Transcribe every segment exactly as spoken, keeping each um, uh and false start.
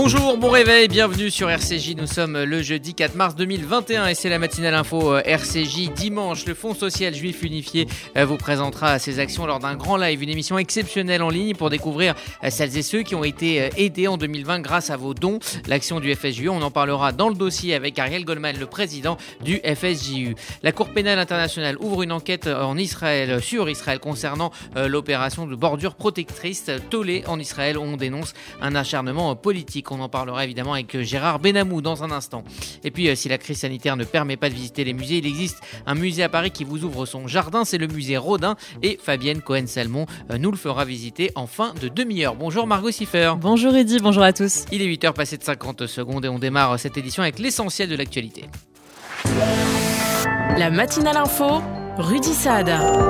Bonjour, bon réveil, bienvenue sur R C J. Nous sommes le jeudi quatre mars deux mille vingt et un et c'est la matinale info R C J. Dimanche, le Fonds social juif unifié vous présentera ses actions lors d'un grand live, une émission exceptionnelle en ligne pour découvrir celles et ceux qui ont été aidés en deux mille vingt grâce à vos dons. L'action du F S J U, on en parlera dans le dossier avec Ariel Goldman, le président du F S J U. La Cour pénale internationale ouvre une enquête en Israël, sur Israël concernant l'opération de bordure protectrice Tolé en Israël. On dénonce un acharnement politique. On en parlera évidemment avec Gérard Benamou dans un instant. Et puis, si la crise sanitaire ne permet pas de visiter les musées, il existe un musée à Paris qui vous ouvre son jardin. C'est le musée Rodin et Fabienne Cohen-Salmon nous le fera visiter en fin de demi-heure. Bonjour Margot Siffer. Bonjour Eddy, bonjour à tous. Il est huit heures passées de cinquante secondes et on démarre cette édition avec l'essentiel de l'actualité. La matinale info, Rudy Saad.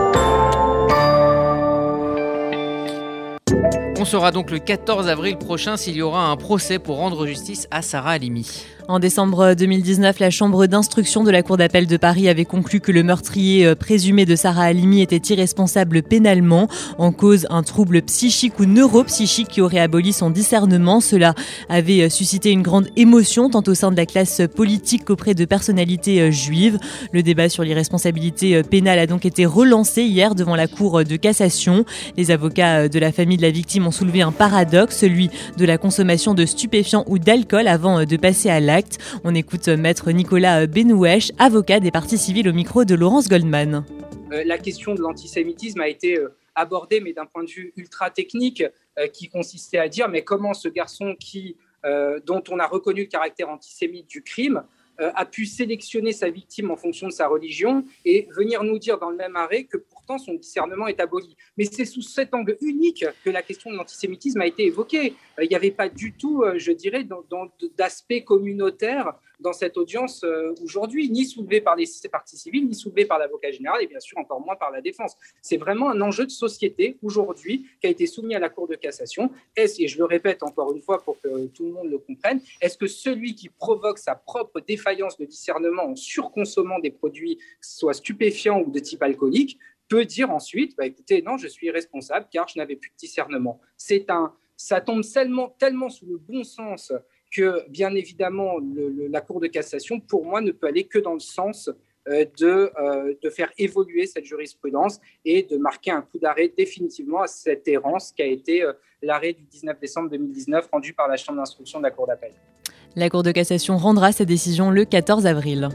On saura donc le quatorze avril prochain s'il y aura un procès pour rendre justice à Sarah Halimi. En décembre deux mille dix-neuf, la chambre d'instruction de la Cour d'appel de Paris avait conclu que le meurtrier présumé de Sarah Halimi était irresponsable pénalement. En cause, un trouble psychique ou neuropsychique qui aurait aboli son discernement. Cela avait suscité une grande émotion tant au sein de la classe politique qu'auprès de personnalités juives. Le débat sur l'irresponsabilité pénale a donc été relancé hier devant la Cour de cassation. Les avocats de la famille de la victime ont soulevé un paradoxe, celui de la consommation de stupéfiants ou d'alcool avant de passer à l'acte. On écoute maître Nicolas Benouèche, avocat des parties civiles au micro de Laurence Goldman. Euh, la question de l'antisémitisme a été euh, abordée, mais d'un point de vue ultra technique, euh, qui consistait à dire mais comment ce garçon qui, euh, dont on a reconnu le caractère antisémite du crime euh, a pu sélectionner sa victime en fonction de sa religion et venir nous dire dans le même arrêt que pourtant son discernement est aboli. Mais c'est sous cet angle unique que la question de l'antisémitisme a été évoquée. Il n'y avait pas du tout, je dirais, dans, dans, d'aspect communautaire dans cette audience aujourd'hui, ni soulevé par les parties civiles, ni soulevé par l'avocat général et bien sûr encore moins par la défense. C'est vraiment un enjeu de société aujourd'hui qui a été soumis à la Cour de cassation. Est-ce, et je le répète encore une fois pour que tout le monde le comprenne, est-ce que celui qui provoque sa propre défaillance de discernement en surconsommant des produits, soit stupéfiants ou de type alcoolique, peut dire ensuite, bah, écoutez, non, je suis irresponsable car je n'avais plus de discernement. C'est un, ça tombe tellement, tellement sous le bon sens que, bien évidemment, le, le, la Cour de cassation, pour moi, ne peut aller que dans le sens euh, de, euh, de faire évoluer cette jurisprudence et de marquer un coup d'arrêt définitivement à cette errance qu'a été euh, l'arrêt du dix-neuf décembre deux mille dix-neuf rendu par la Chambre d'instruction de la Cour d'appel. La Cour de cassation rendra sa décision le quatorze avril.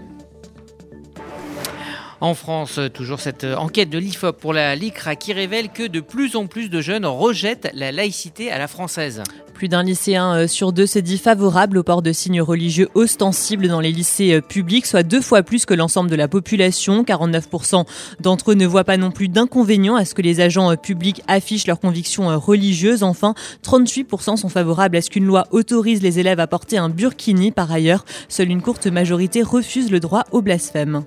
En France, toujours cette enquête de l'I F O P pour la L I C R A qui révèle que de plus en plus de jeunes rejettent la laïcité à la française. Plus d'un lycéen sur deux se dit favorable au port de signes religieux ostensibles dans les lycées publics, soit deux fois plus que l'ensemble de la population. quarante-neuf pour cent d'entre eux ne voient pas non plus d'inconvénients à ce que les agents publics affichent leurs convictions religieuses. Enfin, trente-huit pour cent sont favorables à ce qu'une loi autorise les élèves à porter un burkini. Par ailleurs, seule une courte majorité refuse le droit au blasphème.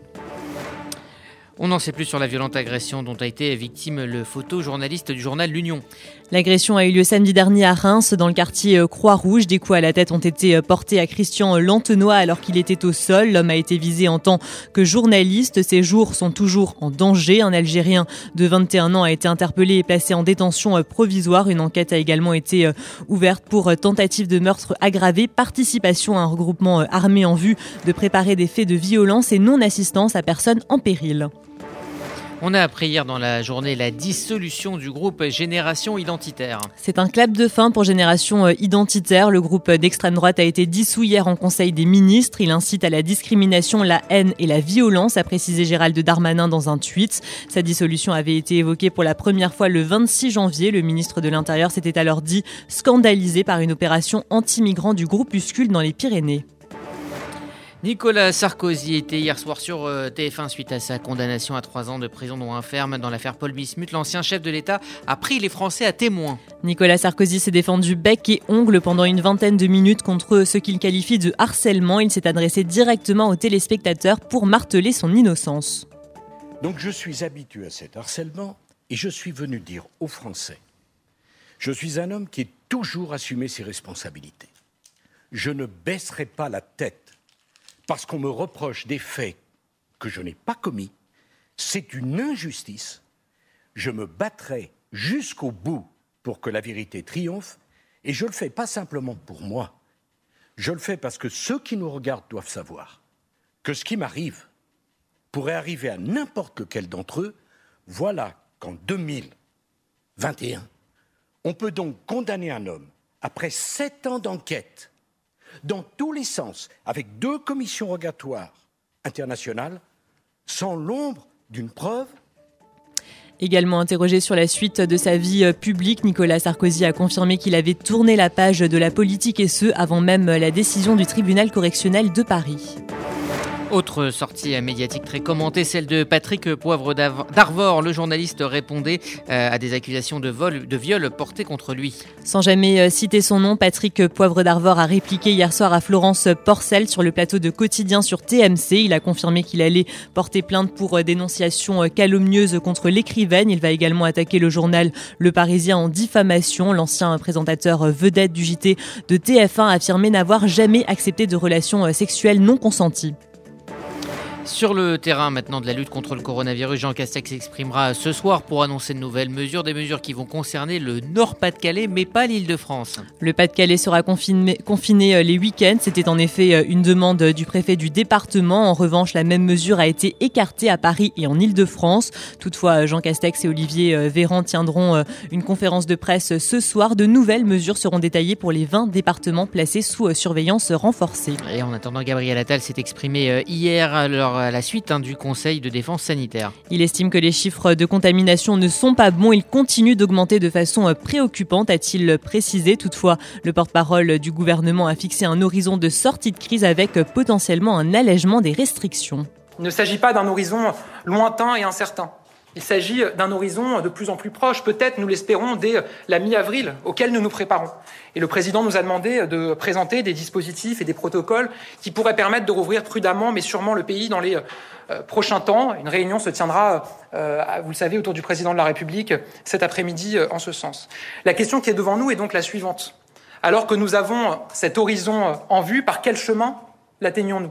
On n'en sait plus sur la violente agression dont a été victime le photojournaliste du journal L'Union. L'agression a eu lieu samedi dernier à Reims, dans le quartier Croix-Rouge. Des coups à la tête ont été portés à Christian Lantenois alors qu'il était au sol. L'homme a été visé en tant que journaliste. Ses jours sont toujours en danger. Un Algérien de vingt et un ans a été interpellé et placé en détention provisoire. Une enquête a également été ouverte pour tentative de meurtre aggravé, participation à un regroupement armé en vue de préparer des faits de violence et non-assistance à personne en péril. On a appris hier dans la journée la dissolution du groupe Génération Identitaire. C'est un clap de fin pour Génération Identitaire. Le groupe d'extrême droite a été dissous hier en Conseil des ministres. Il incite à la discrimination, la haine et la violence, a précisé Gérald Darmanin dans un tweet. Sa dissolution avait été évoquée pour la première fois le vingt-six janvier. Le ministre de l'Intérieur s'était alors dit scandalisé par une opération anti-migrants du groupuscule dans les Pyrénées. Nicolas Sarkozy était hier soir sur T F un suite à sa condamnation à trois ans de prison dont un ferme dans l'affaire Paul Bismuth. L'ancien chef de l'État a pris les Français à témoin. Nicolas Sarkozy s'est défendu bec et ongle pendant une vingtaine de minutes contre ce qu'il qualifie de harcèlement. Il s'est adressé directement aux téléspectateurs pour marteler son innocence. Donc je suis habitué à cet harcèlement et je suis venu dire aux Français, je suis un homme qui a toujours assumé ses responsabilités. Je ne baisserai pas la tête parce qu'on me reproche des faits que je n'ai pas commis. C'est une injustice. Je me battrai jusqu'au bout pour que la vérité triomphe. Et je ne le fais pas simplement pour moi, Je le fais parce que ceux qui nous regardent doivent savoir que ce qui m'arrive pourrait arriver à n'importe lequel d'entre eux. Voilà qu'en deux mille vingt et un, on peut donc condamner un homme, après sept ans d'enquête, dans tous les sens, avec deux commissions rogatoires internationales, sans l'ombre d'une preuve. Également interrogé sur la suite de sa vie publique, Nicolas Sarkozy a confirmé qu'il avait tourné la page de la politique et ce, avant même la décision du tribunal correctionnel de Paris. Autre sortie médiatique très commentée, celle de Patrick Poivre d'Arvor. Le journaliste répondait à des accusations de vol, de viol portées contre lui. Sans jamais citer son nom, Patrick Poivre d'Arvor a répliqué hier soir à Florence Porcel sur le plateau de Quotidien sur T M C. Il a confirmé qu'il allait porter plainte pour dénonciation calomnieuse contre l'écrivaine. Il va également attaquer le journal Le Parisien en diffamation. L'ancien présentateur vedette du J T de T F un a affirmé n'avoir jamais accepté de relations sexuelles non consenties. Sur le terrain maintenant de la lutte contre le coronavirus, Jean Castex s'exprimera ce soir pour annoncer de nouvelles mesures, des mesures qui vont concerner le Nord-Pas-de-Calais mais pas l'Île-de-France. Le Pas-de-Calais sera confiné, confiné les week-ends, c'était en effet une demande du préfet du département. En revanche, la même mesure a été écartée à Paris et en Île-de-France. Toutefois, Jean Castex et Olivier Véran tiendront une conférence de presse ce soir. De nouvelles mesures seront détaillées pour les vingt départements placés sous surveillance renforcée. Et en attendant, Gabriel Attal s'est exprimé hier à leur à la suite hein, du Conseil de défense sanitaire. Il estime que les chiffres de contamination ne sont pas bons. Ils continuent d'augmenter de façon préoccupante, a-t-il précisé. Toutefois, le porte-parole du gouvernement a fixé un horizon de sortie de crise avec potentiellement un allègement des restrictions. Il ne s'agit pas d'un horizon lointain et incertain. Il s'agit d'un horizon de plus en plus proche, peut-être, nous l'espérons, dès la mi-avril, auquel nous nous préparons. Et le président nous a demandé de présenter des dispositifs et des protocoles qui pourraient permettre de rouvrir prudemment, mais sûrement le pays dans les euh, prochains temps. Une réunion se tiendra, euh, vous le savez, autour du président de la République cet après-midi euh, en ce sens. La question qui est devant nous est donc la suivante. Alors que nous avons cet horizon en vue, par quel chemin l'atteignons-nous ?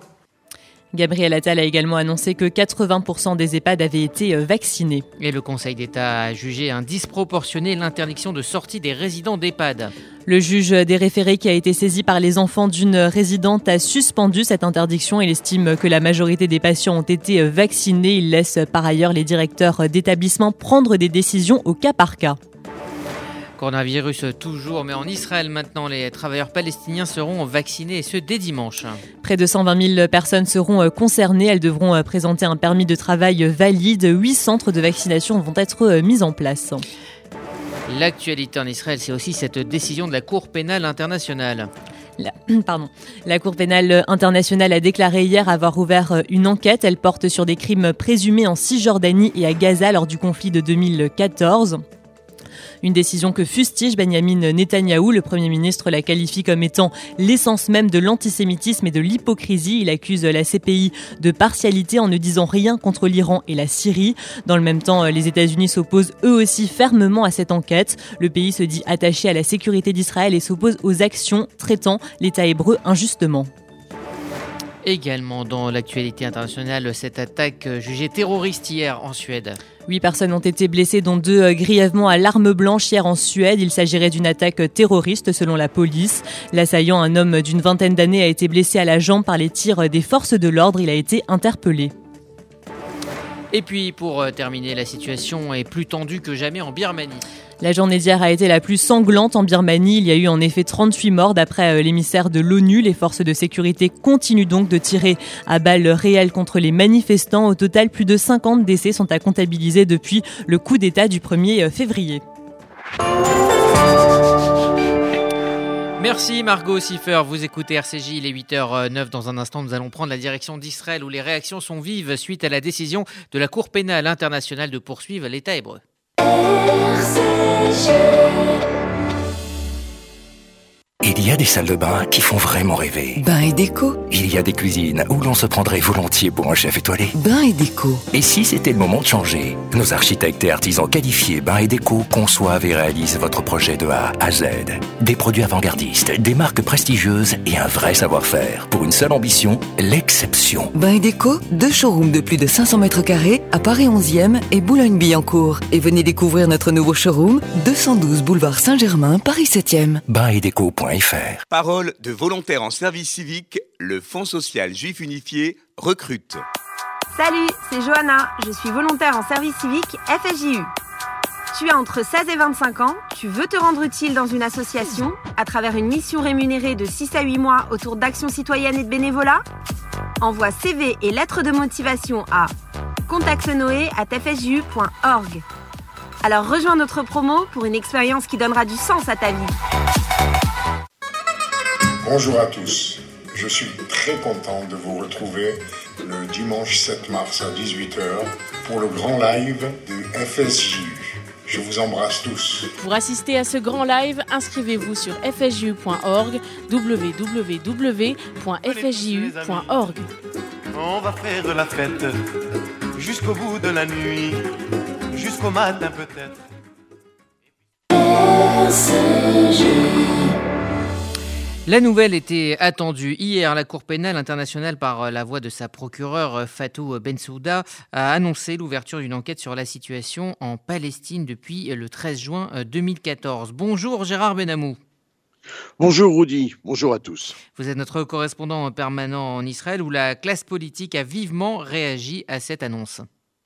Gabriel Attal a également annoncé que quatre-vingts pour cent des EHPAD avaient été vaccinés. Et le Conseil d'État a jugé indisproportionné l'interdiction de sortie des résidents d'EHPAD. Le juge des référés qui a été saisi par les enfants d'une résidente a suspendu cette interdiction. Il estime que la majorité des patients ont été vaccinés. Il laisse par ailleurs les directeurs d'établissements prendre des décisions au cas par cas. Coronavirus toujours, mais en Israël maintenant, les travailleurs palestiniens seront vaccinés et ce dès dimanche. Près de cent vingt mille personnes seront concernées. Elles devront présenter un permis de travail valide. Huit centres de vaccination vont être mis en place. L'actualité en Israël, c'est aussi cette décision de la Cour pénale internationale. La, pardon. La Cour pénale internationale a déclaré hier avoir ouvert une enquête. Elle porte sur des crimes présumés en Cisjordanie et à Gaza lors du conflit de deux mille quatorze. Une décision que fustige Benyamin Netanyahou. Le Premier ministre la qualifie comme étant l'essence même de l'antisémitisme et de l'hypocrisie. Il accuse la C P I de partialité en ne disant rien contre l'Iran et la Syrie. Dans le même temps, les États-Unis s'opposent eux aussi fermement à cette enquête. Le pays se dit attaché à la sécurité d'Israël et s'oppose aux actions traitant l'État hébreu injustement. Également dans l'actualité internationale, cette attaque jugée terroriste hier en Suède. Huit personnes ont été blessées, dont deux grièvement à l'arme blanche hier en Suède. Il s'agirait d'une attaque terroriste selon la police. L'assaillant, un homme d'une vingtaine d'années, a été blessé à la jambe par les tirs des forces de l'ordre. Il a été interpellé. Et puis pour terminer, la situation est plus tendue que jamais en Birmanie. La journée d'hier a été la plus sanglante en Birmanie. Il y a eu en effet trente-huit morts d'après l'émissaire de l'ONU. Les forces de sécurité continuent donc de tirer à balles réelles contre les manifestants. Au total, plus de cinquante décès sont à comptabiliser depuis le coup d'État du premier février. Merci Margot Siffer, vous écoutez R C J, il est huit heures neuf. Dans un instant, nous allons prendre la direction d'Israël où les réactions sont vives suite à la décision de la Cour pénale internationale de poursuivre l'État hébreu. R C J. Il y a des salles de bain qui font vraiment rêver. Bain et déco. Il y a des cuisines où l'on se prendrait volontiers pour un chef étoilé. Bain et déco. Et si c'était le moment de changer? Nos architectes et artisans qualifiés Bain et déco conçoivent et réalisent votre projet de A à Z. Des produits avant-gardistes, des marques prestigieuses et un vrai savoir-faire. Pour une seule ambition, l'exception. Bain et déco, deux showrooms de plus de cinq cents mètres carrés à Paris onzième et Boulogne-Billancourt. Et venez découvrir notre nouveau showroom, deux cent douze boulevard Saint-Germain, Paris septième. bain et déco point com point f r. Parole de volontaires en service civique, le Fonds social juif unifié recrute. Salut, c'est Johanna, je suis volontaire en service civique F S J U. Tu as entre seize et vingt-cinq ans, tu veux te rendre utile dans une association à travers une mission rémunérée de six à huit mois autour d'actions citoyennes et de bénévolat ? Envoie C V et lettres de motivation à contactenoé arobase f s j u point org. Alors rejoins notre promo pour une expérience qui donnera du sens à ta vie. Bonjour à tous, je suis très content de vous retrouver le dimanche sept mars à dix-huit heures pour le grand live du F S J U. Je vous embrasse tous. Pour assister à ce grand live, inscrivez-vous sur f s j u point org, w w w point f s j u point org. On va faire la fête jusqu'au bout de la nuit, jusqu'au matin peut-être. R C J. La nouvelle était attendue. Hier, la Cour pénale internationale, par la voix de sa procureure Fatou Bensouda, a annoncé l'ouverture d'une enquête sur la situation en Palestine depuis le treize juin deux mille quatorze. Bonjour Gérard Benamou. Bonjour Rudy, bonjour à tous. Vous êtes notre correspondant permanent en Israël où la classe politique a vivement réagi à cette annonce.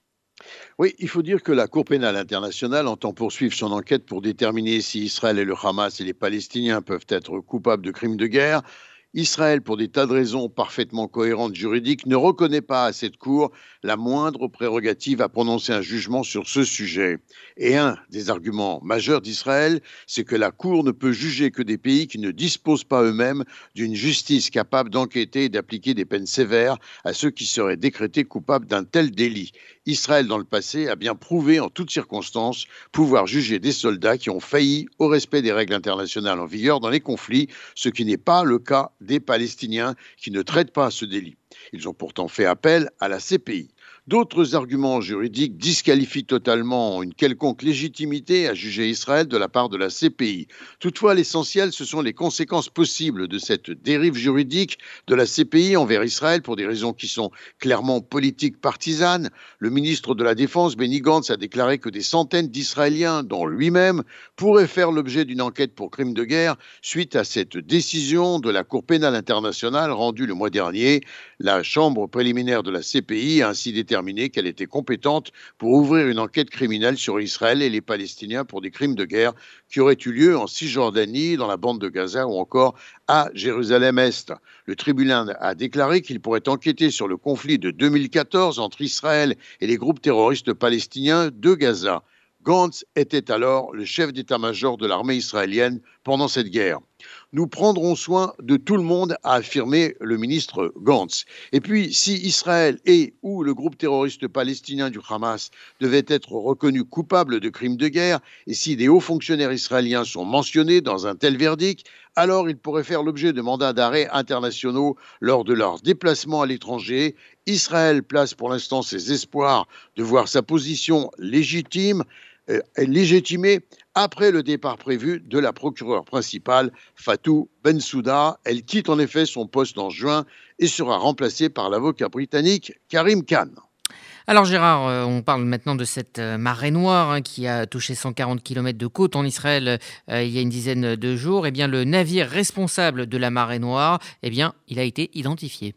Oui, il faut dire que la Cour pénale internationale entend poursuivre son enquête pour déterminer si Israël et le Hamas et les Palestiniens peuvent être coupables de crimes de guerre. Israël, pour des tas de raisons parfaitement cohérentes juridiques, ne reconnaît pas à cette Cour la moindre prérogative à prononcer un jugement sur ce sujet. Et un des arguments majeurs d'Israël, c'est que la Cour ne peut juger que des pays qui ne disposent pas eux-mêmes d'une justice capable d'enquêter et d'appliquer des peines sévères à ceux qui seraient décrétés coupables d'un tel délit. Israël, dans le passé, a bien prouvé en toutes circonstances pouvoir juger des soldats qui ont failli au respect des règles internationales en vigueur dans les conflits, ce qui n'est pas le cas des Palestiniens qui ne traitent pas ce délit. Ils ont pourtant fait appel à la C P I. D'autres arguments juridiques disqualifient totalement une quelconque légitimité à juger Israël de la part de la C P I. Toutefois, l'essentiel, ce sont les conséquences possibles de cette dérive juridique de la C P I envers Israël pour des raisons qui sont clairement politiques partisanes. Le ministre de la Défense, Benny Gantz, a déclaré que des centaines d'Israéliens, dont lui-même, pourraient faire l'objet d'une enquête pour crimes de guerre suite à cette décision de la Cour pénale internationale rendue le mois dernier. La chambre préliminaire de la C P I a ainsi déterminé qu'elle était compétente pour ouvrir une enquête criminelle sur Israël et les Palestiniens pour des crimes de guerre qui auraient eu lieu en Cisjordanie, dans la bande de Gaza ou encore à Jérusalem-Est. Le tribunal a déclaré qu'il pourrait enquêter sur le conflit de deux mille quatorze entre Israël et les groupes terroristes palestiniens de Gaza. Gantz était alors le chef d'état-major de l'armée israélienne pendant cette guerre. Nous prendrons soin de tout le monde, a affirmé le ministre Gantz. Et puis, si Israël et ou le groupe terroriste palestinien du Hamas devaient être reconnus coupables de crimes de guerre, et si des hauts fonctionnaires israéliens sont mentionnés dans un tel verdict, alors ils pourraient faire l'objet de mandats d'arrêt internationaux lors de leur déplacement à l'étranger. Israël place pour l'instant ses espoirs de voir sa position légitime, euh, légitimée après le départ prévu de la procureure principale, Fatou Bensouda. Elle quitte en effet son poste en juin et sera remplacée par l'avocat britannique Karim Khan. Alors Gérard, euh, on parle maintenant de cette euh, marée noire hein, qui a touché cent quarante kilomètres de côte en Israël euh, il y a une dizaine de jours. Eh bien, le navire responsable de la marée noire, eh bien, il a été identifié.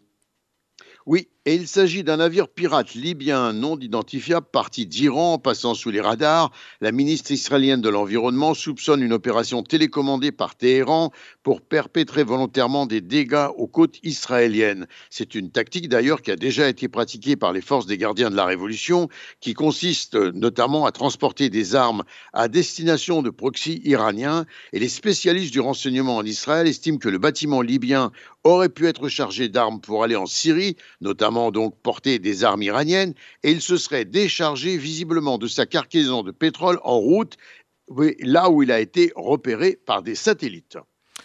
Oui, et il s'agit d'un navire pirate libyen non identifiable parti d'Iran, passant sous les radars. La ministre israélienne de l'Environnement soupçonne une opération télécommandée par Téhéran pour perpétrer volontairement des dégâts aux côtes israéliennes. C'est une tactique d'ailleurs qui a déjà été pratiquée par les forces des gardiens de la Révolution, qui consiste notamment à transporter des armes à destination de proxys iraniens. Et les spécialistes du renseignement en Israël estiment que le bâtiment libyen aurait pu être chargé d'armes pour aller en Syrie, notamment donc porter des armes iraniennes, et il se serait déchargé visiblement de sa cargaison de pétrole en route, là où il a été repéré par des satellites.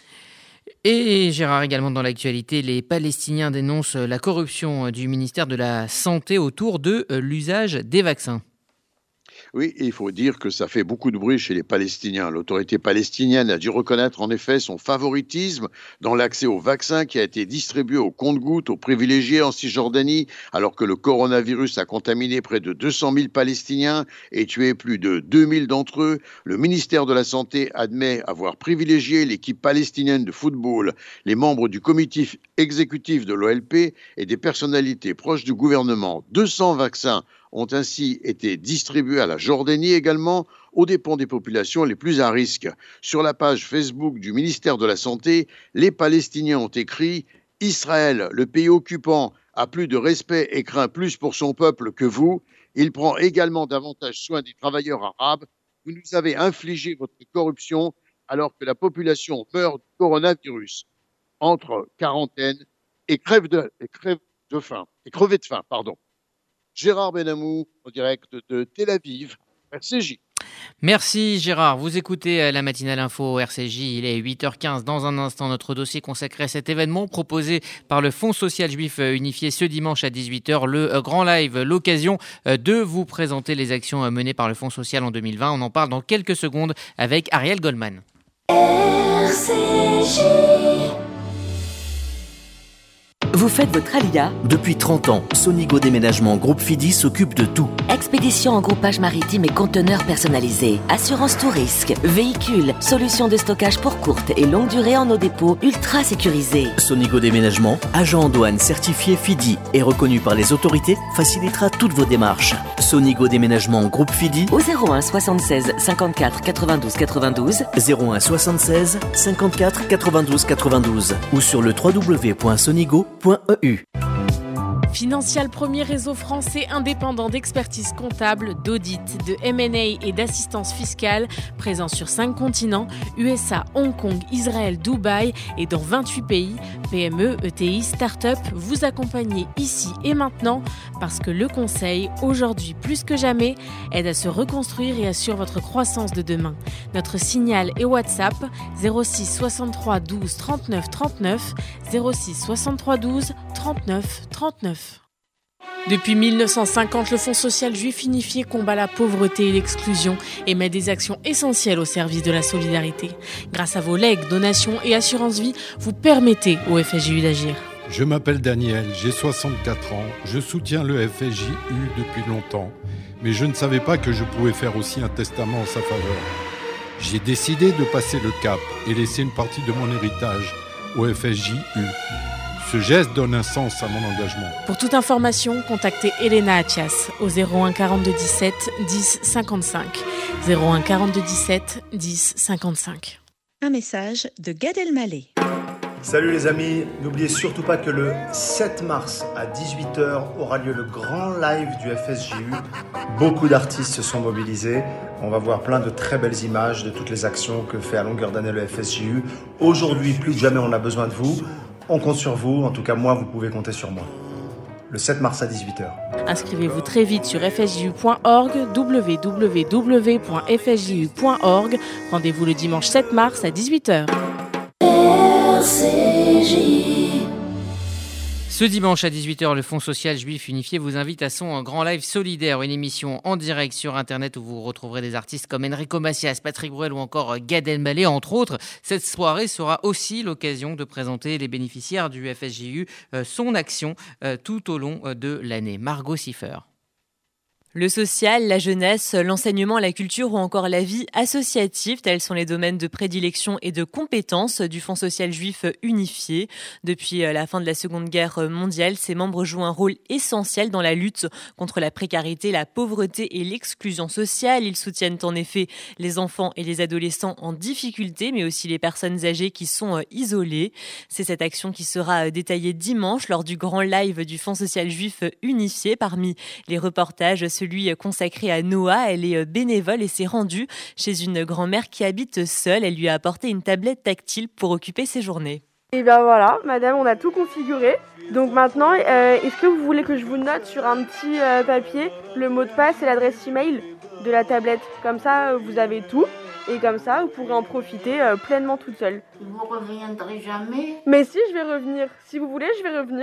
Et Gérard, également dans l'actualité, les Palestiniens dénoncent la corruption du ministère de la Santé autour de l'usage des vaccins. Oui, et il faut dire que ça fait beaucoup de bruit chez les Palestiniens. L'autorité palestinienne a dû reconnaître en effet son favoritisme dans l'accès au vaccin qui a été distribué au compte-gouttes aux privilégiés en Cisjordanie, alors que le coronavirus a contaminé près de deux cent mille Palestiniens et tué plus de deux mille d'entre eux. Le ministère de la Santé admet avoir privilégié l'équipe palestinienne de football, les membres du comité exécutif de l'O L P et des personnalités proches du gouvernement. deux cents vaccins ont ainsi été distribués à la Jordanie également, aux dépens des populations les plus à risque. Sur la page Facebook du ministère de la Santé, les Palestiniens ont écrit « Israël, le pays occupant, a plus de respect et craint plus pour son peuple que vous. Il prend également davantage soin des travailleurs arabes. Vous nous avez infligé votre corruption alors que la population meurt du coronavirus. Entre quarantaine et crève de, et crève de faim, et crever de faim, pardon. » Gérard Benamou, en direct de Tel Aviv, R C J. Merci Gérard, vous écoutez la matinale info R C J, il est huit heures quinze. Dans un instant, notre dossier consacré à cet événement proposé par le Fonds social juif unifié ce dimanche à dix-huit heures, le grand live, l'occasion de vous présenter les actions menées par le Fonds social en deux mille vingt. On en parle dans quelques secondes avec Ariel Goldman. R C J. Vous faites votre alia ? Depuis trente ans, Sonigo Déménagement Groupe Fidi s'occupe de tout. Expédition en groupage maritime et conteneurs personnalisés. Assurance tout risque. Véhicules. Solutions de stockage pour courte et longue durée en nos dépôts ultra sécurisés. Sonigo Déménagement, agent en douane certifié Fidi et reconnu par les autorités, facilitera toutes vos démarches. Sonigo Déménagement Groupe Fidi au zéro un soixante-seize cinquante-quatre quatre-vingt-douze quatre-vingt-douze zéro un soixante-seize cinquante-quatre quatre-vingt-douze quatre-vingt-douze ou sur le w w w point sonigo point e u. Financial, premier réseau français indépendant d'expertise comptable, d'audit, de M and A et d'assistance fiscale, présent sur cinq continents, U S A, Hong Kong, Israël, Dubaï et dans vingt-huit pays. P M E, E T I, start-up, vous accompagnez ici et maintenant parce que le conseil, aujourd'hui plus que jamais, aide à se reconstruire et assure votre croissance de demain. Notre signal et WhatsApp zéro six soixante-trois douze trente-neuf trente-neuf, zéro six soixante-trois douze trente-neuf trente-neuf. Depuis mille neuf cent cinquante, le Fonds social juif unifié combat la pauvreté et l'exclusion et met des actions essentielles au service de la solidarité. Grâce à vos legs, donations et assurances vie, vous permettez au F S J U d'agir. Je m'appelle Daniel, j'ai soixante-quatre ans, je soutiens le F S J U depuis longtemps, mais je ne savais pas que je pouvais faire aussi un testament en sa faveur. J'ai décidé de passer le cap et laisser une partie de mon héritage au F S J U. Ce geste donne un sens à mon engagement. Pour toute information, contactez Elena Atias au zéro un quarante-deux dix-sept dix cinquante-cinq. zéro un quarante-deux dix-sept dix cinquante-cinq. Un message de Gad Elmaleh. Salut les amis, n'oubliez surtout pas que le sept mars à dix-huit heures aura lieu le grand live du F S J U. Beaucoup d'artistes se sont mobilisés. On va voir plein de très belles images de toutes les actions que fait à longueur d'année le F S J U. Aujourd'hui, plus que jamais, on a besoin de vous. On compte sur vous, en tout cas moi, vous pouvez compter sur moi. Le sept mars à dix-huit heures. Inscrivez-vous très vite sur f s j u point org, w w w point f s j u point org. Rendez-vous le dimanche sept mars à dix-huit heures. R C J. Ce dimanche à dix-huit heures, le Fonds social juif unifié vous invite à son grand live solidaire, une émission en direct sur Internet où vous retrouverez des artistes comme Enrico Macias, Patrick Bruel ou encore Gad Elmaleh, entre autres. Cette soirée sera aussi l'occasion de présenter les bénéficiaires du F S J U, euh, son action euh, tout au long de l'année. Margot Siffer. Le social, la jeunesse, l'enseignement, la culture ou encore la vie associative, tels sont les domaines de prédilection et de compétences du Fonds social juif unifié. Depuis la fin de la Seconde Guerre mondiale, ses membres jouent un rôle essentiel dans la lutte contre la précarité, la pauvreté et l'exclusion sociale. Ils soutiennent en effet les enfants et les adolescents en difficulté, mais aussi les personnes âgées qui sont isolées. C'est cette action qui sera détaillée dimanche lors du grand live du Fonds social juif unifié. Parmi les reportages, celui consacré à Noah. Elle est bénévole et s'est rendue chez une grand-mère qui habite seule. Elle lui a apporté une tablette tactile pour occuper ses journées. Et bien voilà, madame, on a tout configuré. Donc maintenant, euh, est-ce que vous voulez que je vous note sur un petit euh, papier le mot de passe et l'adresse email de la tablette ? Comme ça, vous avez tout. Et comme ça, vous pourrez en profiter euh, pleinement toute seule. Vous reviendrez jamais ? Mais si, je vais revenir. Si vous voulez, je vais revenir.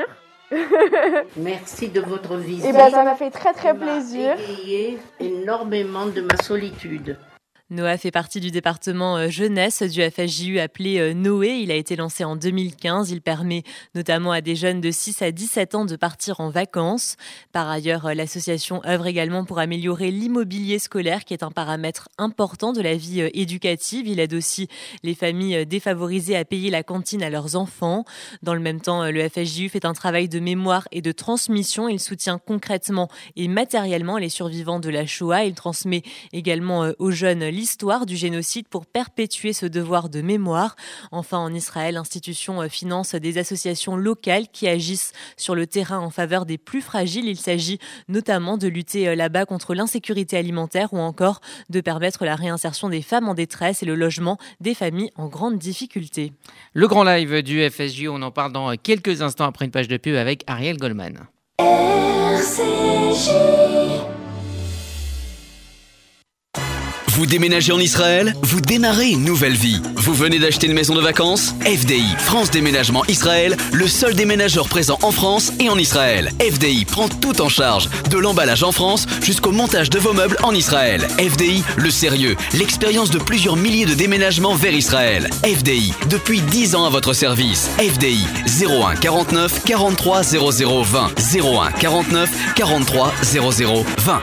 Merci de votre visite. Et ben, ça m'a fait très très plaisir. Ça m'a égayé énormément de ma solitude. Noah fait partie du département jeunesse du F S J U appelé Noé. Il a été lancé en deux mille quinze. Il permet notamment à des jeunes de six à dix-sept ans de partir en vacances. Par ailleurs, l'association œuvre également pour améliorer l'immobilier scolaire, qui est un paramètre important de la vie éducative. Il aide aussi les familles défavorisées à payer la cantine à leurs enfants. Dans le même temps, le F S J U fait un travail de mémoire et de transmission. Il soutient concrètement et matériellement les survivants de la Shoah. Il transmet également aux jeunes l'histoire du génocide pour perpétuer ce devoir de mémoire. Enfin, en Israël, l'institution finance des associations locales qui agissent sur le terrain en faveur des plus fragiles. Il s'agit notamment de lutter là-bas contre l'insécurité alimentaire ou encore de permettre la réinsertion des femmes en détresse et le logement des familles en grande difficulté. Le grand live du F S J U, on en parle dans quelques instants après une page de pub avec Ariel Goldman. R C J. Vous déménagez en Israël? Vous démarrez une nouvelle vie. Vous venez d'acheter une maison de vacances? F D I, France Déménagement Israël, le seul déménageur présent en France et en Israël. F D I prend tout en charge, de l'emballage en France jusqu'au montage de vos meubles en Israël. F D I, le sérieux, l'expérience de plusieurs milliers de déménagements vers Israël. F D I, depuis dix ans à votre service. F D I, zéro un quarante-neuf quarante-trois zéro zéro vingt. zéro un quarante-neuf quarante-trois zéro zéro vingt.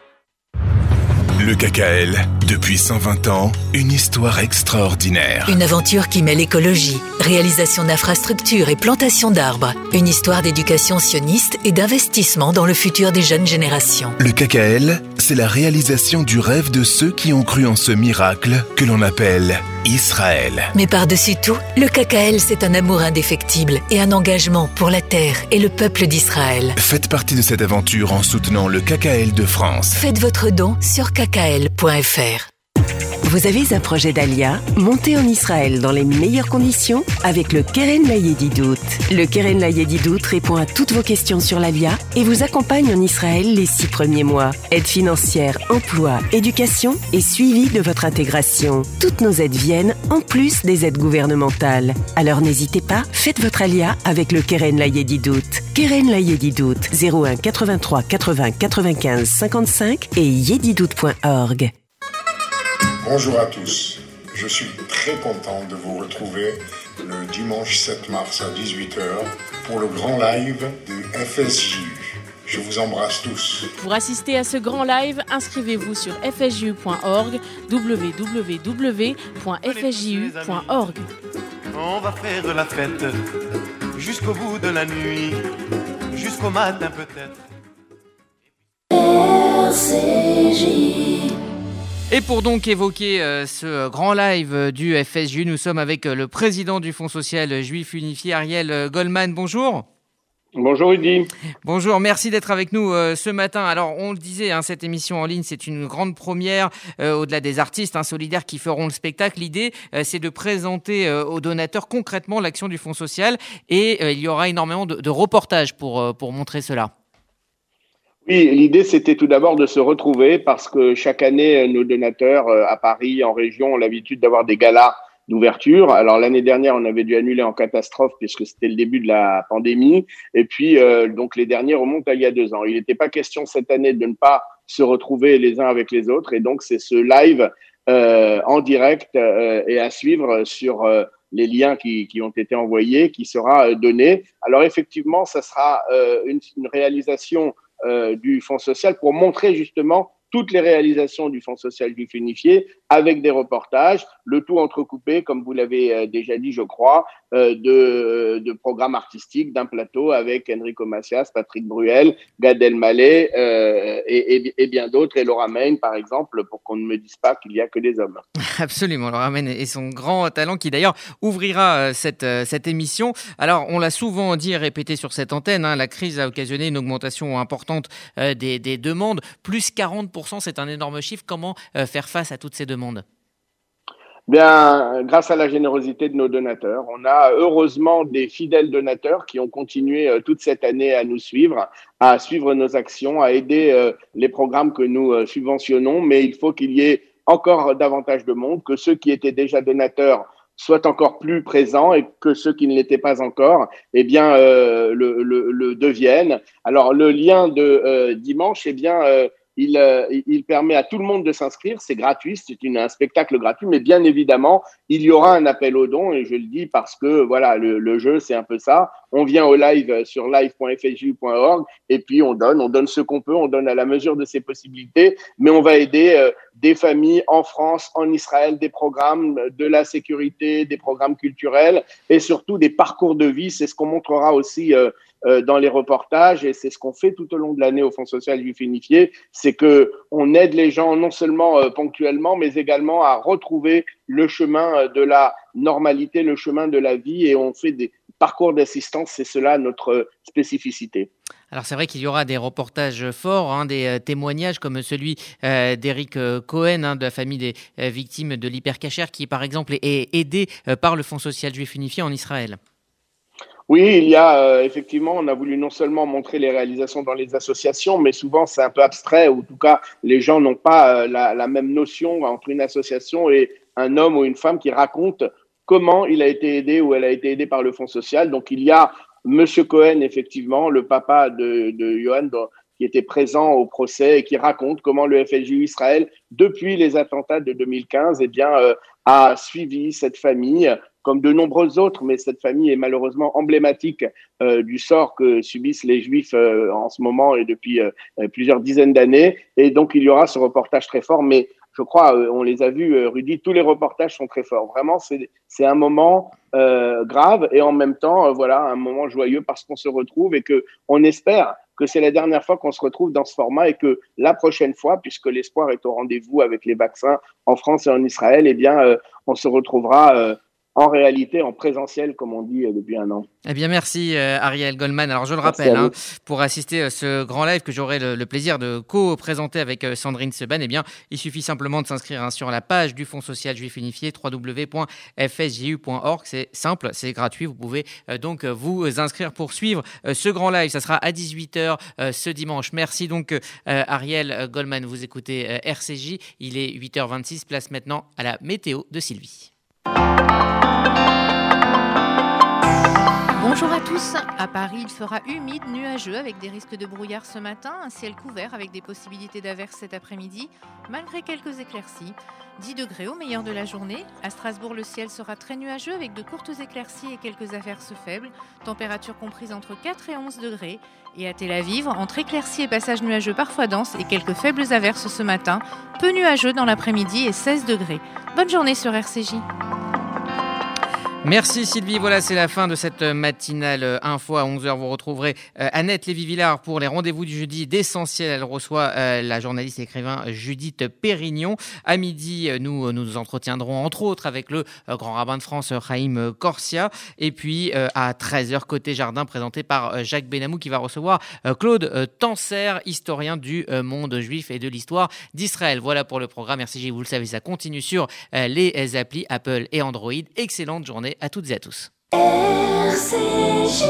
Le K K L, depuis cent vingt ans, une histoire extraordinaire. Une aventure qui mêle écologie, réalisation d'infrastructures et plantation d'arbres. Une histoire d'éducation sioniste et d'investissement dans le futur des jeunes générations. Le K K L, c'est la réalisation du rêve de ceux qui ont cru en ce miracle que l'on appelle Israël. Mais par-dessus tout, le K K L, c'est un amour indéfectible et un engagement pour la terre et le peuple d'Israël. Faites partie de cette aventure en soutenant le K K L de France. Faites votre don sur k k l point f r. Vous avez un projet d'Alia? Montez en Israël dans les meilleures conditions avec le Keren Layedidout. Le Keren Layedidout répond à toutes vos questions sur l'Alia et vous accompagne en Israël les six premiers mois. Aide financière, emploi, éducation et suivi de votre intégration. Toutes nos aides viennent en plus des aides gouvernementales. Alors n'hésitez pas, faites votre Alia avec le Keren Layedidout. Keren Layedidout, zéro un quatre-vingt-trois quatre-vingts quatre-vingt-quinze cinquante-cinq et yedidout point org. Bonjour à tous, je suis très content de vous retrouver le dimanche sept mars à dix-huit heures pour le grand live du F S J U. Je vous embrasse tous. Pour assister à ce grand live, inscrivez-vous sur f s j u point org, w w w point f s j u point org. On va faire la fête jusqu'au bout de la nuit, jusqu'au matin peut-être. R C J. Et pour donc évoquer euh, ce grand live du F S J U, nous sommes avec le président du Fonds social juif unifié, Ariel Goldman. Bonjour. Bonjour Rudy. Bonjour, merci d'être avec nous euh, ce matin. Alors on le disait, hein, cette émission en ligne, c'est une grande première, euh, au-delà des artistes hein, solidaires qui feront le spectacle. L'idée, euh, c'est de présenter euh, aux donateurs concrètement l'action du Fonds social et euh, il y aura énormément de, de reportages pour, euh, pour montrer cela. Oui, l'idée, c'était tout d'abord de se retrouver parce que chaque année, nos donateurs euh, à Paris, en région, ont l'habitude d'avoir des galas d'ouverture. Alors, l'année dernière, on avait dû annuler en catastrophe puisque c'était le début de la pandémie. Et puis, euh, donc, les derniers remontent à il y a deux ans. Il n'était pas question cette année de ne pas se retrouver les uns avec les autres. Et donc, c'est ce live euh, en direct euh, et à suivre sur euh, les liens qui, qui ont été envoyés, qui sera euh, donné. Alors, effectivement, ça sera euh, une, une réalisation Euh, du Fonds social pour montrer justement toutes les réalisations du Fonds social juif unifié avec des reportages, le tout entrecoupé, comme vous l'avez euh, déjà dit, je crois, euh, de, de programmes artistiques, d'un plateau avec Enrico Macias, Patrick Bruel, Gad Elmaleh euh, et, et, et bien d'autres, et Laura Main, par exemple, pour qu'on ne me dise pas qu'il n'y a que des hommes. Absolument, Laura Main et son grand talent qui d'ailleurs ouvrira cette, cette émission. Alors, on l'a souvent dit et répété sur cette antenne, hein, la crise a occasionné une augmentation importante euh, des, des demandes, plus quarante pour cent, c'est un énorme chiffre. Comment euh, faire face à toutes ces demandes ? Bien, grâce à la générosité de nos donateurs, on a heureusement des fidèles donateurs qui ont continué euh, toute cette année à nous suivre, à suivre nos actions, à aider euh, les programmes que nous euh, subventionnons, mais il faut qu'il y ait encore davantage de monde, que ceux qui étaient déjà donateurs soient encore plus présents et que ceux qui ne l'étaient pas encore, eh bien, euh, le, le, le deviennent. Alors, le lien de euh, dimanche, eh bien, euh, il, euh, il permet à tout le monde de s'inscrire. C'est gratuit, c'est une, un spectacle gratuit, mais bien évidemment, il y aura un appel aux dons et je le dis parce que, voilà, le, le jeu, c'est un peu ça. On vient au live sur live point f s j u point org et puis on donne, on donne ce qu'on peut, on donne à la mesure de ses possibilités, mais on va aider euh, des familles en France, en Israël, des programmes de la sécurité, des programmes culturels et surtout des parcours de vie. C'est ce qu'on montrera aussi euh, euh, dans les reportages et c'est ce qu'on fait tout au long de l'année au Fonds social juif unifié, c'est que on aide les gens non seulement euh, ponctuellement, mais également à retrouver le chemin de la normalité, le chemin de la vie et on fait des parcours d'assistance, c'est cela notre spécificité. Alors c'est vrai qu'il y aura des reportages forts, hein, des euh, témoignages comme celui euh, d'Eric euh, Cohen, hein, de la famille des euh, victimes de l'hypercacher, qui par exemple est aidé euh, par le Fonds social juif unifié en Israël. Oui, il y a euh, effectivement, on a voulu non seulement montrer les réalisations dans les associations, mais souvent c'est un peu abstrait, ou en tout cas les gens n'ont pas euh, la, la même notion entre une association et un homme ou une femme qui raconte comment il a été aidé ou elle a été aidée par le Fonds social. Donc il y a Monsieur Cohen, effectivement, le papa de, de Johan, qui était présent au procès et qui raconte comment le F S J U Israël, depuis les attentats de deux mille quinze, eh bien, euh, a suivi cette famille, comme de nombreuses autres, mais cette famille est malheureusement emblématique euh, du sort que subissent les Juifs euh, en ce moment et depuis euh, plusieurs dizaines d'années. Et donc, il y aura ce reportage très fort, mais je crois, euh, on les a vus, euh, Rudy, tous les reportages sont très forts. Vraiment, c'est, c'est un moment euh, grave et en même temps, euh, voilà, un moment joyeux parce qu'on se retrouve et que on espère que c'est la dernière fois qu'on se retrouve dans ce format et que la prochaine fois, puisque l'espoir est au rendez-vous avec les vaccins en France et en Israël, eh bien, euh, on se retrouvera euh, en réalité, en présentiel, comme on dit euh, depuis un an. Eh bien, merci euh, Ariel Goldman. Alors, je le merci rappelle, hein, pour assister à ce grand live que j'aurai le, le plaisir de co-présenter avec euh, Sandrine Seban, eh bien, il suffit simplement de s'inscrire hein, sur la page du Fonds social juif unifié, w w w point f s j u point org. C'est simple, c'est gratuit. Vous pouvez euh, donc vous inscrire pour suivre euh, ce grand live. Ça sera à dix-huit heures euh, ce dimanche. Merci donc euh, Ariel Goldman. Vous écoutez euh, R C J. Il est huit heures vingt-six. Place maintenant à la météo de Sylvie. Bonjour à tous. À Paris, il fera humide, nuageux avec des risques de brouillard ce matin, un ciel couvert avec des possibilités d'averses cet après-midi, malgré quelques éclaircies. dix degrés au meilleur de la journée. À Strasbourg, le ciel sera très nuageux avec de courtes éclaircies et quelques averses faibles. Température comprise entre quatre et onze degrés. Et à Tel Aviv, entre éclaircies et passages nuageux parfois denses et quelques faibles averses ce matin, peu nuageux dans l'après-midi et seize degrés. Bonne journée sur R C J. Merci Sylvie, voilà c'est la fin de cette matinale info. À onze heures, vous retrouverez euh, Annette Lévy-Villard pour les rendez-vous du jeudi d'Essentiel. Elle reçoit euh, la journaliste et écrivain Judith Pérignon. À midi, nous nous entretiendrons entre autres avec le euh, grand rabbin de France Chaim Corsia. Et puis euh, à treize heures, Côté Jardin, présenté par euh, Jacques Benamou qui va recevoir euh, Claude euh, Tanser, historien du euh, monde juif et de l'histoire d'Israël. Voilà pour le programme R C J, vous le savez, ça continue sur euh, les applis Apple et Android. Excellente journée à toutes et à tous. R C J.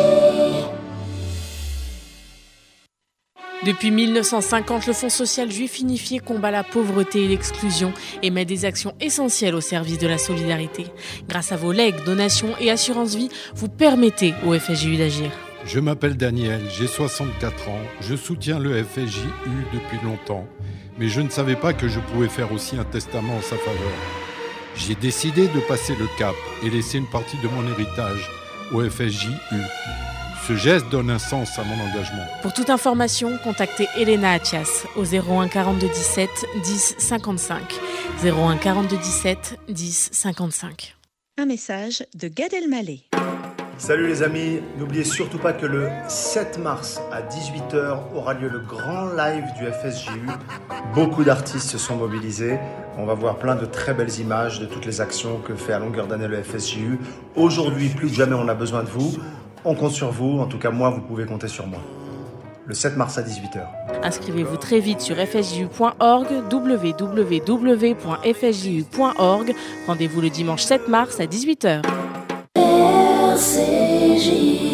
Depuis mille neuf cent cinquante, le Fonds social juif unifié combat la pauvreté et l'exclusion et met des actions essentielles au service de la solidarité. Grâce à vos legs, donations et assurances vie, vous permettez au F S J U d'agir. Je m'appelle Daniel, j'ai soixante-quatre ans, je soutiens le F S J U depuis longtemps, mais je ne savais pas que je pouvais faire aussi un testament en sa faveur. J'ai décidé de passer le cap et laisser une partie de mon héritage au F S J U. Ce geste donne un sens à mon engagement. Pour toute information, contactez Elena Atias au zéro un quarante-deux dix-sept dix cinquante-cinq. zéro un quarante-deux dix-sept dix cinquante-cinq. Un message de Gad Elmaleh. Salut les amis, n'oubliez surtout pas que le sept mars à dix-huit heures aura lieu le grand live du F S J U. Beaucoup d'artistes se sont mobilisés. On va voir plein de très belles images de toutes les actions que fait à longueur d'année le F S J U. Aujourd'hui, plus que jamais, on a besoin de vous. On compte sur vous. En tout cas, moi, vous pouvez compter sur moi. Le sept mars à dix-huit heures. Inscrivez-vous très vite sur f s j u point org, w w w point f s j u point org. Rendez-vous le dimanche sept mars à dix-huit heures. R C J.